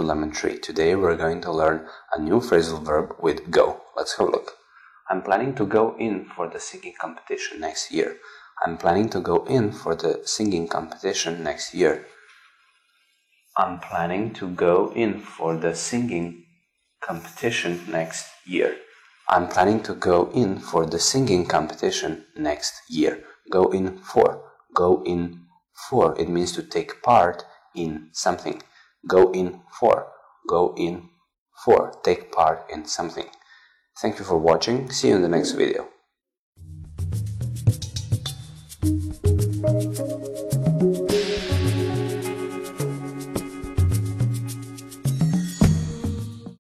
Lemon Tree. Today we're going to learn a new phrasal verb with go. Let's have a look. I'm planning to go in for the singing competition next year. I'm planning to go in for the singing competition next year. I'm planning to go in for the singing competition next year. I'm planning to go in for the singing competition next year. Go in for. Go in for. It means to take part in something. Go in for. Go in for. Take part in something. Thank you for watching. See you in the next video.